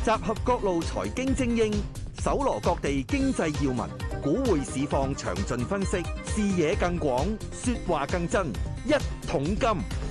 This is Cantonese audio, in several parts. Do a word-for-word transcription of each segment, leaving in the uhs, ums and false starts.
集合各路財經精英，搜羅各地經濟要聞，股匯市況詳盡分析，視野更廣，說話更真。一桶金。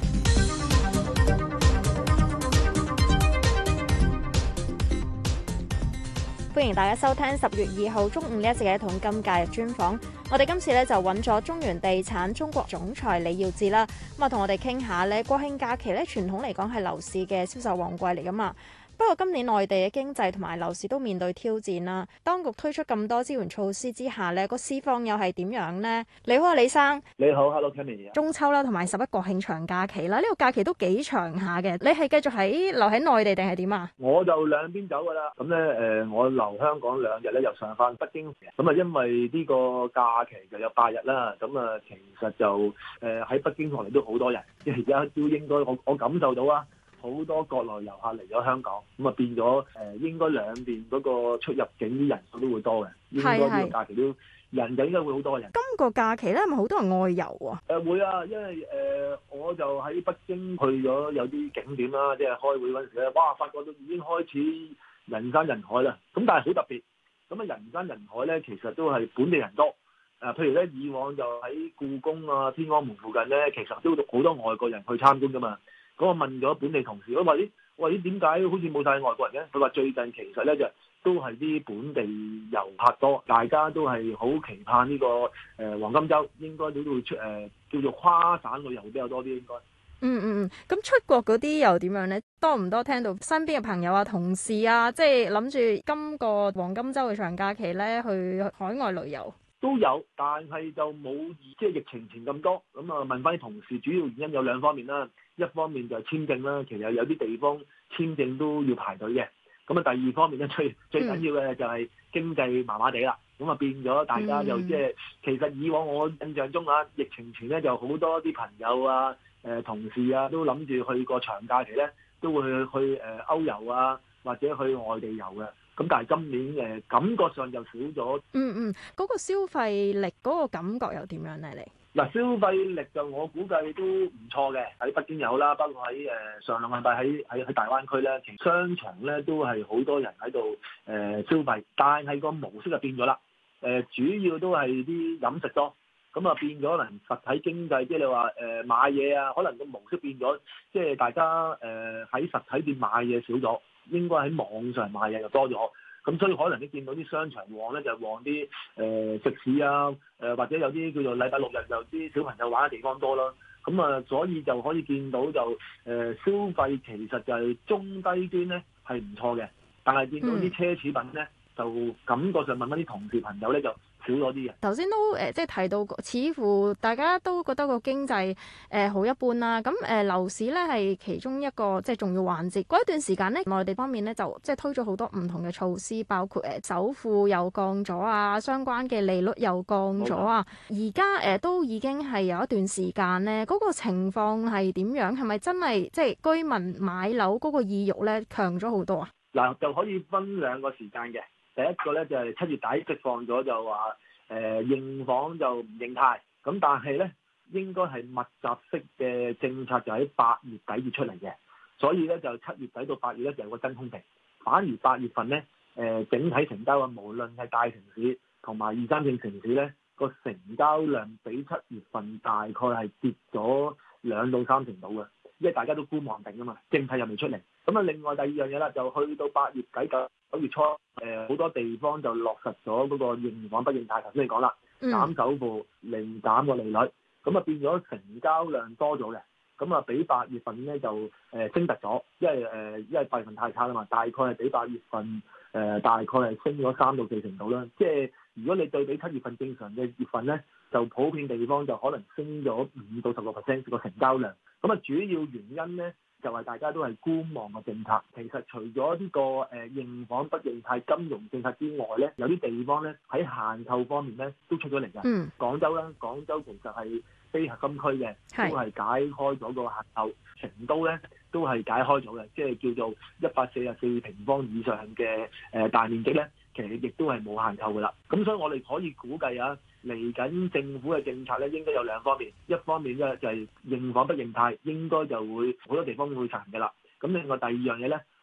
歡迎大家收聽十月二號中午呢一節嘅一桶金假日專訪。我哋今次咧就揾咗中原地產中國總裁李耀智啦，咁啊同我哋傾下咧國慶假期咧傳統嚟講係樓市嘅銷售旺季嚟噶嘛。不過今年內地嘅經濟同埋樓市都面對挑戰啦，當局推出咁多支援措施之下呢個市況又係點樣呢？你好啊，李生。 你好 ，Hello Cammy。 中秋啦，同埋十一國慶長假期啦，呢、這個假期都幾長下嘅。你係繼續喺留喺內地定係點啊？ 我就兩邊走噶啦。咁咧誒，我留香港兩日咧，又上翻北京。咁啊，因為呢個假期就有八日啦。咁啊，其實就誒喺、呃、北京落嚟都好多人，即係而家都應該我我感受到啊。好多國內遊客嚟咗香港，咁啊變咗誒、呃，應該兩邊嗰個出入境啲人數都會多嘅，應該呢個假期都人就應該會好多嘅人。 今個假期咧係咪好多人外遊啊？ 誒、呃、會啊，因為誒、呃、我就喺北京去咗有啲景點啦，即係開會嗰陣時咧，哇！發覺到已經開始人山人海啦。咁但係好特別，咁啊人山人海咧，其實都係本地人多。誒、呃，譬如咧以往就喺故宮啊、天安門附近咧，其實都好多外國人去參觀噶嘛。咁我問咗本地同事，我話咦，我話咦點解好似冇晒外國人嘅？佢話最近其實咧就都係啲本地遊客多，大家都係好期盼呢、這個誒、呃、黃金週，應該都會出誒、呃、叫做跨省旅遊會比較多啲應該。 嗯嗯嗯，咁出國嗰啲又點樣咧？多唔多聽到身邊嘅朋友啊、同事啊，即係諗住今個黃金週嘅長假期咧去海外旅遊？ 都有，但係就冇即係疫情前咁多。咁啊問翻啲同事，主要原因有兩方面啦。一方面就係簽證啦，其實有啲地方簽證都要排隊嘅。咁啊第二方面咧，最最緊要嘅就係經濟麻麻地啦。咁啊變咗大家又即係其實以往我印象中啊，疫情前咧就好多啲朋友啊、誒、呃、同事啊都諗住去個長假期咧，都會去誒歐遊啊，或者去外地遊嘅。咁但係今年誒感覺上就少咗。 嗯嗯，嗰、那個消費力嗰個感覺又點樣咧？你？ 嗱，消費力就我估計都唔錯嘅，喺北京有啦，包括喺誒上兩個禮拜喺喺喺大灣區咧，其實商場咧都係好多人喺度誒消費，但係個模式就變咗啦。誒、呃、主要都係啲飲食多，咁啊變咗可能實體經濟，即係你話誒、呃、買嘢啊，可能個模式變咗，即係大家誒喺、呃、實體店買嘢少咗，應該喺網上買嘢就多咗。咁所以可能你見到啲商場旺咧，就旺啲誒、呃、食肆啊，誒、呃、或者有啲叫做禮拜六日就啲小朋友玩嘅地方多啦。咁啊，所以就可以見到就誒、呃、消費其實就係中低端咧係唔錯嘅，但係見到啲奢侈品咧就感覺上問翻啲同事朋友咧就少咗啲嘅。 頭先都誒、呃、即係提到，似乎大家都覺得個經濟誒、呃、好一般啦。咁誒、呃、樓市咧係其中一個即係重要環節。嗰一段時間咧，內地方面咧就即係推咗好多唔同嘅措施，包括誒首付又降咗啊，相關嘅利率又降咗啊。而家誒都已經係有一段時間咧，嗰、那個情況係點樣？係咪真係即係居民買樓嗰個意欲咧強咗好多啊？ 嗱，就可以分兩個時間嘅。第一個咧就係七月底釋放咗，就話誒認房就唔認貸，咁但係咧應該係密集式嘅政策就喺八月底至出嚟嘅，所以咧就七月底到八月咧就有個真空期。反而八月份咧誒、呃、整體成交啊，無論係大城市同埋二三線城市咧個成交量比七月份大概係跌咗兩到三成度嘅，因為大家都觀望定啊嘛，政策又未出嚟。咁啊，另外第二樣嘢啦，就去到八月底九九月初，誒、呃、好多地方就落實咗嗰個認房不認貸，頭先你講啦，減首付、零減個利率，咁啊變咗成交量多咗嘅，咁啊比八月份咧就誒、呃、升突咗，因為誒、呃、因為八月份太差啦嘛，大概係比八月份誒、呃、大概係升咗三到四成度啦。即係如果你對比七月份正常嘅月份咧，就普遍地方就可能升咗五到十個 percent 個成交量。咁啊主要原因咧，就係大家都係觀望嘅政策。其實除咗呢個誒認房不認貸金融政策之外咧，有啲地方咧喺限購方面咧都出咗嚟㗎。嗯，廣州啦，廣州其實係非核心區嘅，都係解開咗個限購。成都咧都係解開咗嘅，即係叫做一百四十四平方以上嘅誒大面積咧，其實亦都係冇限購㗎啦。咁所以我哋可以估計啊，嚟緊政府嘅政策咧，應該有兩方面，一方面咧就係認房不認貸，應該就會好多地方會實行㗎啦。咁另外第二樣嘢咧，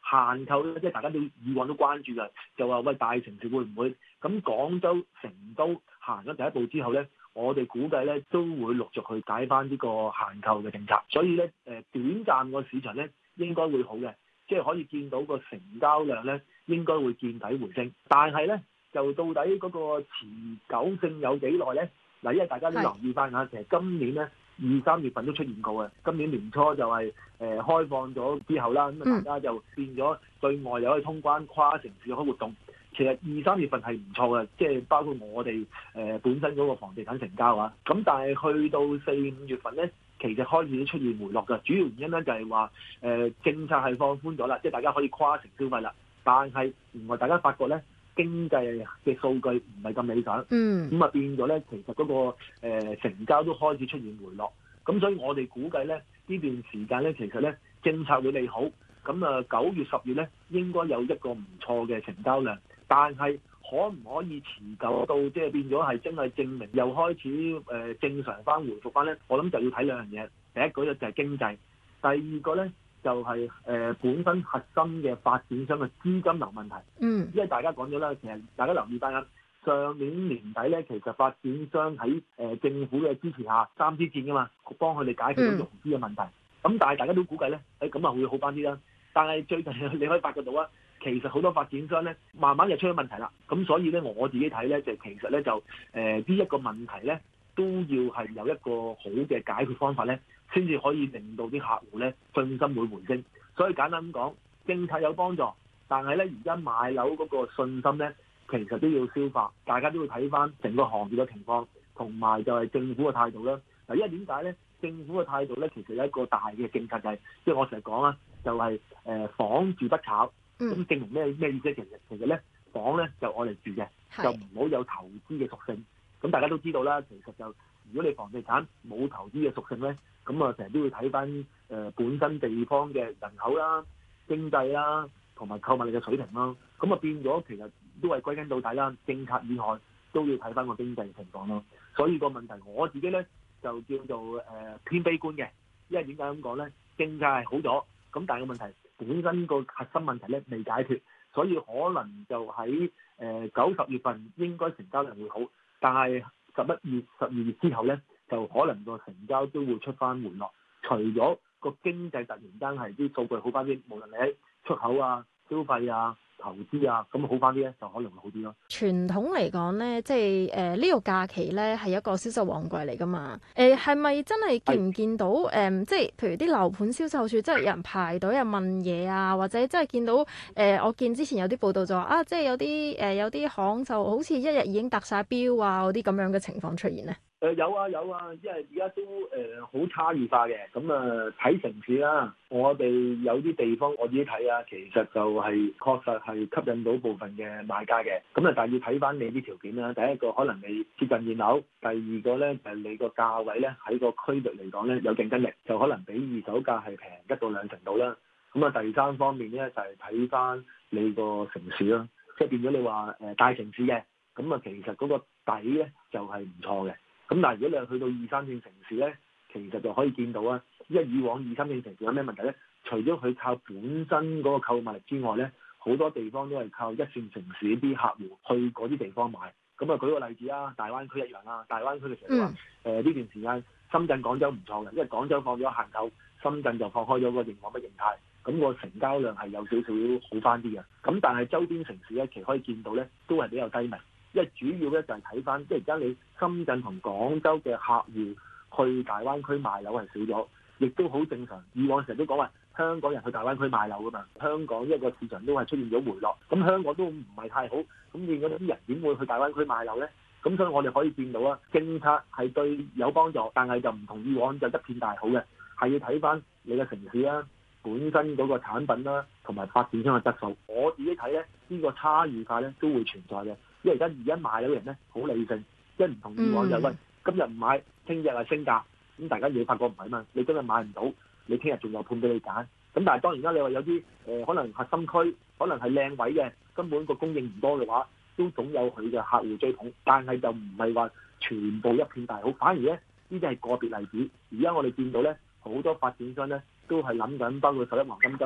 限購咧，即係大家都以往都關注嘅，就話喂大城市會唔會咁？廣州、成都行咗第一步之後咧，我哋估計咧都會陸續去解翻呢個限購嘅政策，所以咧誒短暫個市場咧應該會好嘅，即係可以見到個成交量咧應該會見底回升，但係咧就到底嗰個持久性有幾耐咧？嗱，因為大家都留意翻下，其實今年咧二三月份都出現過嘅，今年年初就係、是、誒、呃、開放咗之後啦，咁啊大家就變咗對外又可以通關，跨城市開活動。其實二三月份係唔錯嘅，即係包括我哋誒、呃、本身嗰個房地產成交啊。咁但係去到四五月份咧，其實開始出現回落嘅，主要原因咧就係話誒政策係放寬咗啦，即係大家可以跨城消費啦。但係原來大家發覺咧經濟嘅數據唔係咁理想， 嗯， 咁啊變咗咧，其實嗰、那個、呃、成交都開始出現回落。咁所以我哋估計咧呢段時間咧，其實咧政策會利好。咁啊九月十月咧應該有一個唔錯嘅成交量。但係可唔可以持久到即係變咗係真係證明又開始誒、呃、正常翻回復翻咧？我諗就要睇兩樣嘢，第一個咧就係經濟，第二個咧就係、是、誒、呃、本身核心嘅發展商嘅資金流問題。 嗯， 因為大家講咗啦，其實大家留意翻啦，上年年底咧，其實發展商喺誒、呃、政府嘅支持下三支箭㗎嘛，幫佢哋解決到融資嘅問題。咁、嗯、但係大家都估計咧，誒咁啊會好翻啲啦。但係最近你可以發覺到啊。其實好多發展商咧，慢慢就出咗問題啦。咁所以咧，我自己睇咧，就其實咧就誒呢一個問題咧，都要係有一個好嘅解決方法咧，先至可以令到啲客戶咧信心會回升。所以簡單咁講，政策有幫助，但係咧而家買樓嗰個信心咧，其實都要消化。大家都要睇翻整個行業嘅情況，同埋就係政府嘅態度啦。嗱，因為點解咧？政府嘅態度咧，其實有一個大嘅政策就係、是，即係我成日講啦，就係、是、誒、呃、房住不炒。咁、嗯、證明咩咩意思？其實其實咧，房咧就愛嚟住嘅，就唔好有投資嘅屬性。咁大家都知道啦，其實就如果你房地產冇投資嘅屬性咧，咁啊成日都要睇翻誒本身地方嘅人口啦、經濟啦，同埋購買力嘅水平啦。咁啊變咗其實都係歸根到底啦，政策以外都要睇翻個經濟情況咯。所以個問題我自己咧就叫做誒、呃、偏悲觀嘅，因為點解咁講咧？政策係好咗，咁但係個問題。本身個核心問題咧未解決，所以可能就喺誒九十月份應該成交量會好，但係十一月、十二月之後咧，就可能個成交都會出翻回落。除咗個經濟突然間係啲數據好翻啲，無論你喺出口啊、消費啊、投資啊，咁好翻啲咧，就可能會好啲咯。 傳統嚟講咧，即係誒呢個假期咧係一個銷售旺季嚟噶嘛？誒係咪真係見唔見到誒、呃？即係譬如啲樓盤銷售處，即係有人排隊啊問嘢啊，或者即係見到誒、呃？我見之前有啲報道就話啊，即係有啲誒、呃、有啲行就好似一日已經達晒標啊，嗰啲咁樣嘅情況出現咧。 誒、呃、有啊有啊，因為而家都誒好、呃、差異化嘅，咁啊睇城市啦，我哋有啲地方我自己睇啊，其實就係確實係吸引到部分嘅買家嘅，咁啊但係要睇翻你啲條件啦。第一個可能你接近現樓，第二個咧就係、是、你個價位咧喺個區域嚟講咧有競爭力，就可能比二手價係平一到兩成度啦。咁啊第三方面咧就係睇翻你個城市啦，即係變咗你話誒大城市嘅，咁啊其實嗰個底咧就係唔錯嘅。咁但係如果你係去到二三線城市咧，其實就可以見到啊，因為以往二三線城市有咩問題咧？除咗佢靠本身嗰個購買力之外咧，好多地方都係靠一線城市啲客戶去嗰啲地方買。咁啊，舉個例子啊，大灣區一樣啦。大灣區嘅時候話，誒呢段時間深圳、廣州唔錯嘅，因為廣州放咗限購，深圳就放開咗個認可不認貸，咁個成交量係有少少好翻啲嘅。咁但係周邊城市咧，其實可以見到咧，都係比較低迷。因為主要咧就係睇翻，即係而家你深圳同廣州嘅客戶去大灣區賣樓係少咗，亦都好正常。以往成日都講話香港人去大灣區賣樓噶嘛，香港一個市場都係出現咗回落，咁香港都唔係太好，咁變咗啲人點會去大灣區賣樓咧？咁所以我哋可以見到啊，政策係對有幫助，但係就唔同以往就一片大好嘅，係要睇翻你嘅城市啦、本身嗰個產品啦，同埋發展商嘅質素。我自己睇咧，呢個差異化咧都會存在嘅。因為而家而家買樓嘅人咧好理性，即係唔同以往就係、喂今日唔買，聽日係升價，咁大家你發覺唔係嘛？你今日買唔到，你聽日仲有盤俾你揀。咁但係當然啦，你話有啲誒、呃、可能核心區，可能係靚位嘅，根本個供應唔多嘅話，都總有佢嘅客戶追捧。但係就唔係話全部一片大好，反而咧呢啲係個別例子。而家我哋見到咧好多發展商咧都係諗緊，包括十一黃金週啦，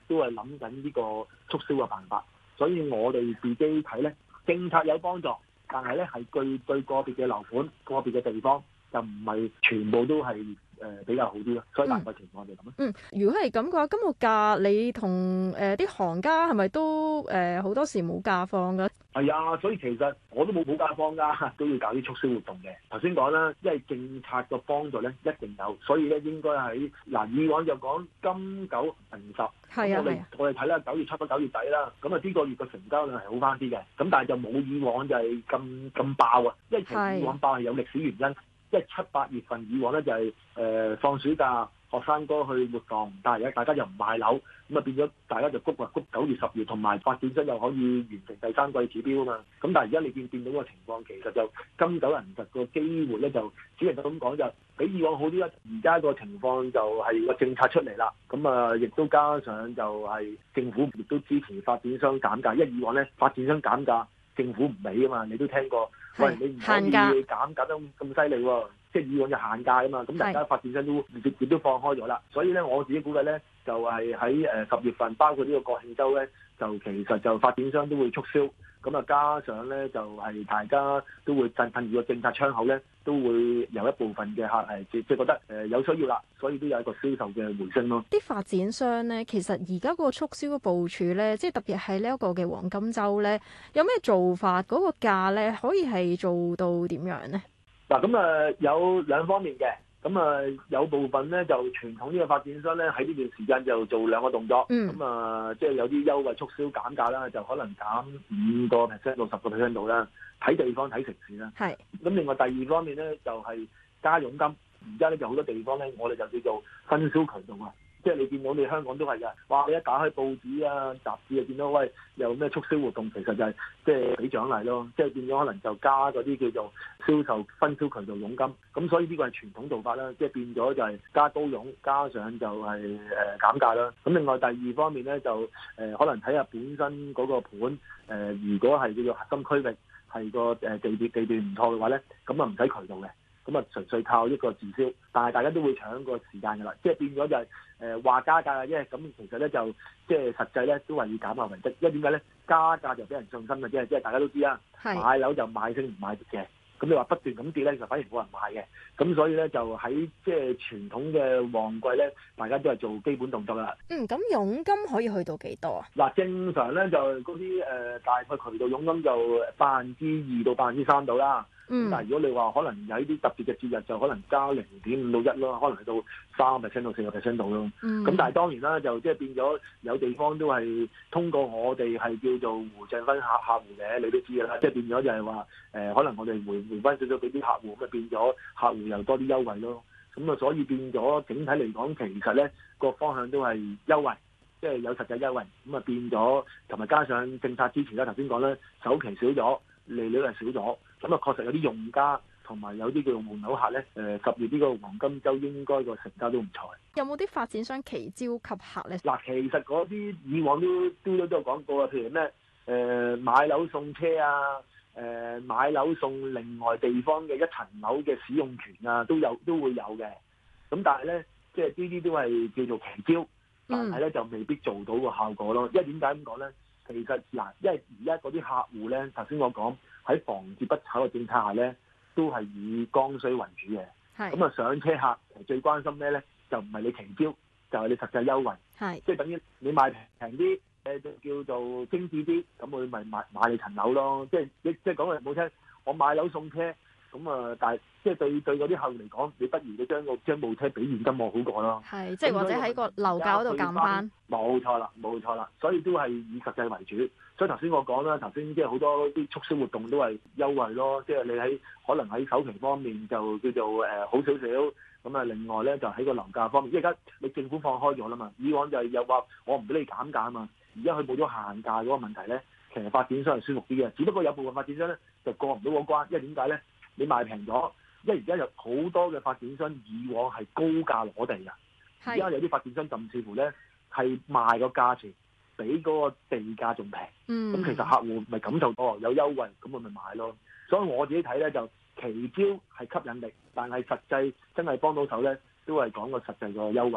都係諗緊呢個促銷嘅辦法。所以我哋自己睇咧，政策有幫助，但係咧係對對個別嘅樓盤、個別嘅地方就唔係全部都係誒、呃、比較好啲咯。所以大概情況就咁咯。 嗯，如果係咁嘅話，咁個價你同誒啲行家係咪都誒好、呃、多時冇價放㗎？ 係啊，所以其實我都冇冇價放㗎，都要搞啲促銷活動嘅。頭先講啦，因為政策嘅幫助咧一定有，所以咧應該喺嗱以往就講金九銀十， 係啊， 我哋我哋睇啦，九月初到九月底啦，咁啊呢個月嘅成交量係好翻啲嘅，咁但係就冇以往就係咁咁爆啊，因為其實以往爆係有歷史原因，即係七八月份以往咧就係、是、誒、呃、放暑假。學生哥去活動，但係而家大家又唔賣樓，咁啊變咗大家就谷啊谷九月十月，同埋發展商又可以完成第三季指標啊嘛。咁但係而家你見見到個情況，其實就金九銀十個機會咧，就只能夠咁講就比以往好啲啦。而家個情況就係個政策出嚟啦，咁啊亦都加上就係政府亦都支持發展商減價，因為以往咧發展商減價，政府唔俾啊嘛，你都聽過，喂你唔可以減減得咁犀利喎。即係以往就限價啊嘛，咁大家發展商都亦都放開咗啦，所以咧我自己估計咧就係喺誒十月份，包括呢個國慶週咧，就其實就發展商都會促銷，咁啊加上咧就係、是、大家都會趁趁住個政策窗口咧，都會有一部分嘅客係即即係覺得誒有需要啦，所以都有一個銷售嘅回升咯。 啲發展商咧，其實而家個促銷嘅部署咧，即係特別係呢一個嘅黃金週咧，有咩做法？嗰、那個價咧可以係做到點樣咧？ 嗱咁啊有兩方面嘅，咁啊有部分咧就傳統呢個發展商咧喺呢段時間就做兩個動作，咁啊即係有啲優惠促銷減價啦，就可能減五個 percent 到十個 percent 度啦，睇地方睇城市啦。係。咁另外第二方面咧就係、是、加佣金，而家咧就好多地方咧，我哋就叫做分銷渠道啊。即係你見到你香港都係㗎，哇！你一打開報紙啊、雜誌啊，見到喂有咩促銷活動，其實就係即係俾獎勵咯，即係變咗可能就加嗰啲叫做銷售分銷渠道佣金，咁所以呢個係傳統做法啦，即係變咗就係加高佣，加上就係誒減價啦。咁另外第二方面咧就誒、呃、可能睇下本身嗰個盤誒、呃，如果係叫做核心區域係個誒地段地段唔錯嘅話咧，咁啊唔使渠道嘅。咁啊，純粹靠一個自銷，但係大家都會搶個時間㗎啦，即係變咗就係誒話加價嘅啫。咁其實咧就即係實際咧都係要減價為值，因為點解咧？加價就俾人信心嘅啫，即係大家都知啦。買樓就買升唔買跌嘅，咁你話不斷咁跌咧，就反而冇人買嘅。咁所以咧就喺即係傳統嘅旺季咧，大家都係做基本動作啦。 嗯，咁佣金可以去到幾多啊？ 嗱，正常咧就嗰啲誒大概渠道佣金就百分之二到百分之三度啦。嗯，但係如果你話可能有啲特別嘅節日，就可能加零點五到一咯，可能去到三個 percent 到四個 percent 度咯。咁、嗯、但係當然啦，就即係變咗有地方都係通過我哋係叫做回贈翻客客戶嘅，你都知㗎啦。即係變咗就係話誒，可能我哋回回翻少少俾啲客戶，咁啊變咗客戶又多啲優惠咯。咁啊，所以變咗整體嚟講，其實咧個方向都係優惠，即係有實際優惠。咁啊變咗，同埋加上政策支持啦，頭先講咧，首期少咗，利率係少咗。咁啊，確實有啲用家同埋有啲叫做換樓客咧，誒、呃、十月呢個黃金週應該個成交都唔錯。 有冇啲發展商期招吸客咧？ 嗱，其實嗰啲以往都都都有講過啊，譬如咩誒、呃、買樓送車啊，誒、呃、買樓送另外地方嘅一層樓嘅使用權啊，都有都會有嘅。咁但係咧，即係呢啲都係叫做期招，但係咧就未必做到個效果咯。因為點解咁講咧？其實嗱，因為而家嗰啲客戶咧，頭先我講。喺房住不炒嘅政策下咧，都係以剛需為主嘅。係咁啊，上車客其實最關心咩咧？就唔係你期招，就係、是、你實際優惠。係即係等於你買平啲，誒就叫做精緻啲，咁我咪買買你層樓咯。即係即係講句唔好聽，我買樓送車，咁啊，但係即係對對嗰啲客戶嚟講，你不如你將個將部車俾現金我好過咯。係即係或者喺個樓價嗰度減翻。冇錯啦，冇錯啦，所以都係以實際為主。所以頭先我講啦，頭先即係好多啲促銷活動都係優惠咯，即係你喺可能喺首期方面就叫做誒好少少，咁啊另外咧就喺個樓價方面，因為而家你政府放開咗啦嘛，以往就係又話我唔俾你減價啊嘛，而家佢冇咗限價嗰個問題咧，其實發展商係舒服啲嘅，只不過有部分發展商咧就過唔到嗰關，因為點解咧？你賣平咗，因為而家有好多嘅發展商以往係高價攞地㗎，而家有啲發展商甚至乎咧係賣個價錢比嗰個地價仲平，咁、嗯、其實客戶咪感受到有優惠，咁我咪買咯。所以我自己睇咧就期招係吸引力，但係實際真係幫到手咧，都係講個實際個優惠咯。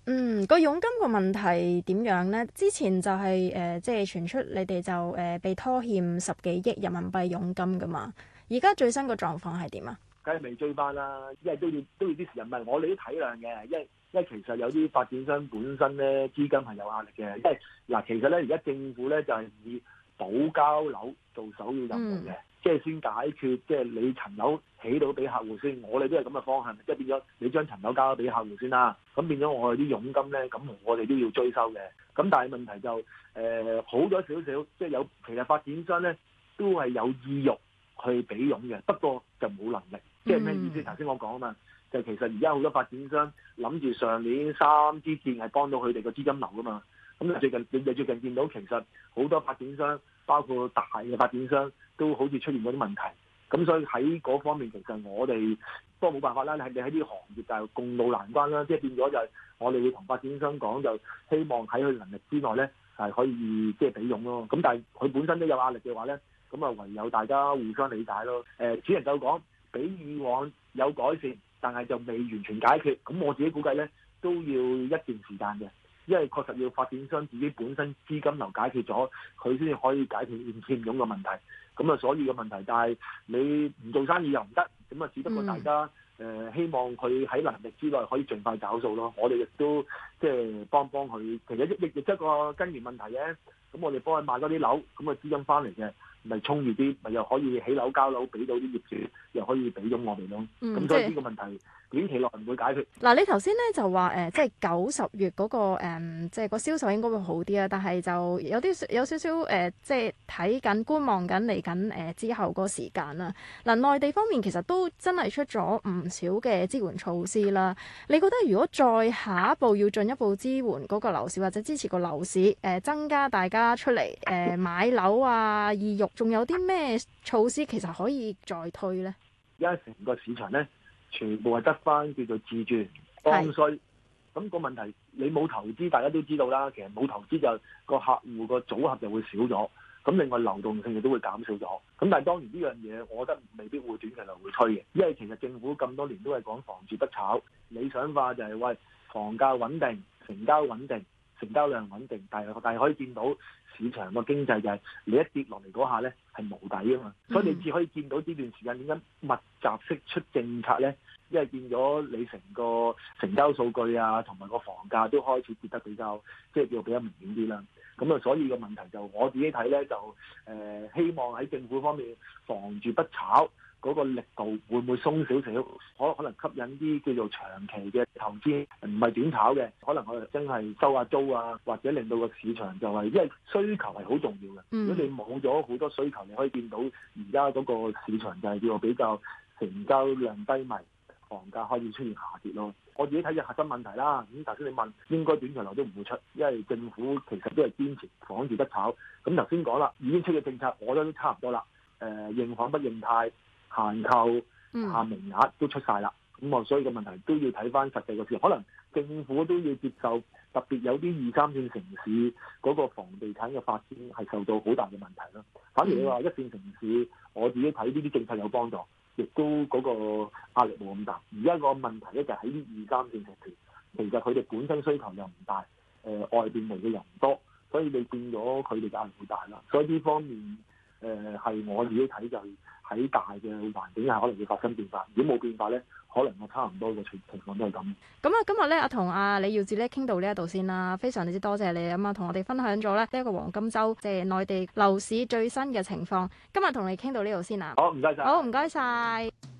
嗯，個佣金個問題點樣呢？之前就係、是、誒、呃，即係傳出你哋就誒、呃、被拖欠十幾億人民幣佣金噶嘛。而家最新個狀況係點啊？ 梗係未追翻啦，因為都要都要啲時間。唔係我哋都體諒嘅，因為因為其實有啲發展商本身咧資金係有壓力嘅。因為嗱，其實咧而家政府咧就係、是、以補交樓做首要任務嘅，即係、嗯、先解決即係你層樓起到俾客戶先。我哋都係咁嘅方向，即係變咗你將層樓交咗俾客戶先啦。咁變咗我哋啲佣金咧，咁我哋都要追收嘅。咁但係問題就誒、呃、好咗少少，即係有其實發展商咧都係有意欲去俾佣嘅，不過就冇能力。即係咩意思？頭先我講啊嘛，就其實而家好多發展商諗住上年三支箭係幫到佢哋個資金流噶嘛。咁最近你哋最近見到其實好多發展商，包括大嘅發展商，都好似出現嗰啲問題。咁所以喺嗰方面，其實我哋不過冇辦法啦。你係你喺呢個行業就係共度難關啦。即係變咗就係我哋會同發展商講，就希望喺佢能力之內咧係可以即係俾佣咯。咁但係佢本身都有壓力嘅話咧，咁啊唯有大家互相理解咯。誒、呃，只能夠講比以往有改善，但係就未完全解決。咁我自己估計咧，都要一段時間嘅，因為確實要發展商自己本身資金流解決咗，佢先至可以解決欠佣嘅問題。咁啊，所以嘅問題，但係你唔做生意又唔得，咁啊，只不過大家誒、嗯呃、希望佢喺能力之內可以盡快找數咯。我哋亦都即係幫幫佢，其實亦亦亦一個根源問題嘅。咁我哋幫佢買多啲樓，咁啊資金翻嚟嘅，咪充裕啲，咪又可以起樓交樓，俾到啲業主，又可以俾咗我哋咯。咁、嗯、所以呢個問題短期內唔會解決。 嗱、嗯，你頭先咧就話誒、呃，即係九十月嗰、那個、呃、即係個銷售應該會好啲啊。但係就有啲有少少誒、呃，即係睇緊觀望緊嚟緊誒之後嗰個時間啦。嗱、呃，內地方面其實都真係出咗唔少嘅支援措施啦。你覺得如果再下一步要進一步支援嗰個樓市或者支持個樓市誒、呃，增加大家出嚟誒、呃、買樓啊意欲，仲有啲咩措施其實可以再推咧？ 而家成個市場咧，全部係得翻叫做自住剛需。咁是個問題，你冇投資，大家都知道啦。其實冇投資就個客戶個組合就會少咗。咁另外流動性亦都會減少咗。咁但係當然呢樣嘢，我覺得未必會短期內會推嘅，因為其實政府咁多年都係講房住不炒，理想化就係、是、喂房價穩定、成交穩定、成交量穩定。但係但係可以見到市場個經濟就係你一跌落嚟嗰下咧係無底啊嘛，嗯、所以你只可以見到呢段時間點解密集式出政策咧，因為見咗你成個成交數據啊，同埋個房價都開始跌得比較即係叫比較明顯啲啦。咁啊，所以個問題就我自己睇咧，就誒、呃、希望喺政府方面房住不炒嗰個力度會唔會鬆少少，可可能吸引啲叫做長期嘅投資，唔係短炒嘅，可能我哋真係收下租啊，或者令到個市場就係、是、因為需求係好重要嘅。嗯、如果你冇咗好多需求，你可以見到而家嗰個市場就係叫做比較成交量低迷，房價開始出現下跌咯。我自己睇嘅核心問題啦，咁頭先你問應該短期內都唔會出，因為政府其實都係堅持房住不炒。咁頭先講啦，已經出嘅政策我覺得都差唔多啦。誒、呃，認房不認貸。限購、限名額都出晒啦，咁啊，所以個問題都要睇翻實際個市，可能政府都要接受，特別有啲二三線城市嗰個房地產嘅發展係受到好大嘅問題咯。反而你話一線城市，我自己睇呢啲政策有幫助，亦都嗰個壓力冇咁大。而家個問題咧就喺啲二三線城市，其實佢哋本身需求又唔大，誒、呃、外邊嚟嘅人唔多，所以你變咗佢哋嘅壓力會大啦。所以呢方面。誒係、呃、我自己睇就係喺大嘅環境下可能會發生變化，如果冇變化咧，可能我差唔多嘅情情況都係咁。 咁啊，今日咧，阿同阿李耀智咧傾到呢一度先啦，非常之多謝你咁啊，同我哋分享咗咧呢一個黃金週即係內地樓市最新嘅情況。今日同你傾到呢度先啦。 好，唔該晒。 好，唔該晒。